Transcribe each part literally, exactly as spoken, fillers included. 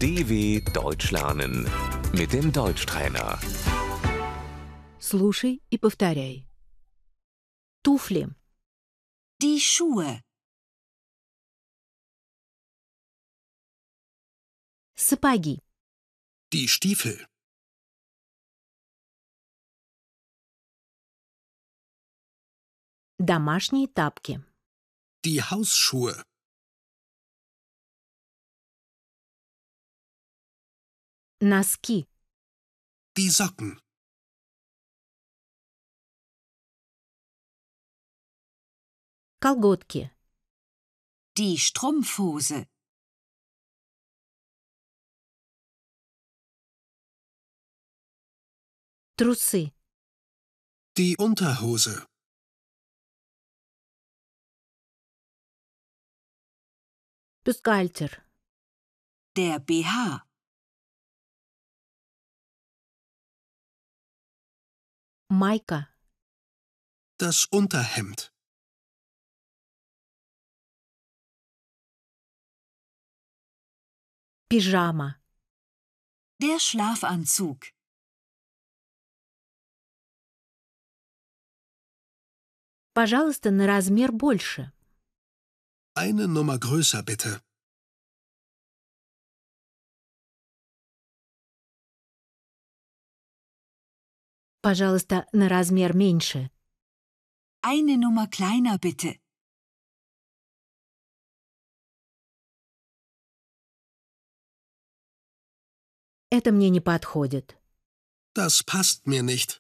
D W Deutsch lernen mit dem Deutschtrainer. Слушай и повторяй. Туфли, Die Schuhe, сапоги, Die Stiefel, домашние тапки, die Hausschuhe, носки, die Socken, колготки, die Strumpfhose, трусы, die Unterhose, бюстгальтер, der B H, майка, das Unterhemd, пижама, der Schlafanzug, пожалуйста, на размер больше. eine Nummer größer bitte, Пожалуйста, на размер меньше. eine Nummer kleiner bitte, Это мне не подходит. das passt mir nicht,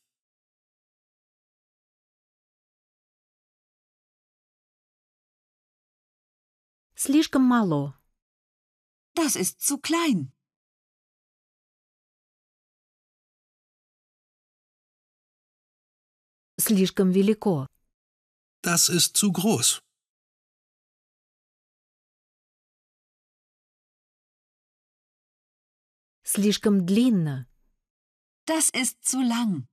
Слишком мало. das ist zu klein, Слишком велико. das ist zu groß, Слишком длинно. das ist zu lang,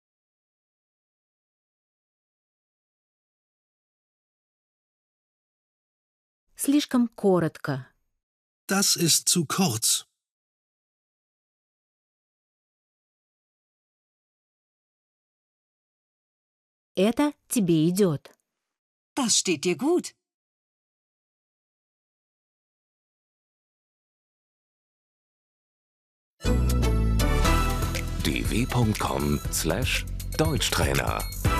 Слишком коротко. das ist zu kurz, Это тебе идет. das steht dir gut. d w punkt com slash Deutschtrainer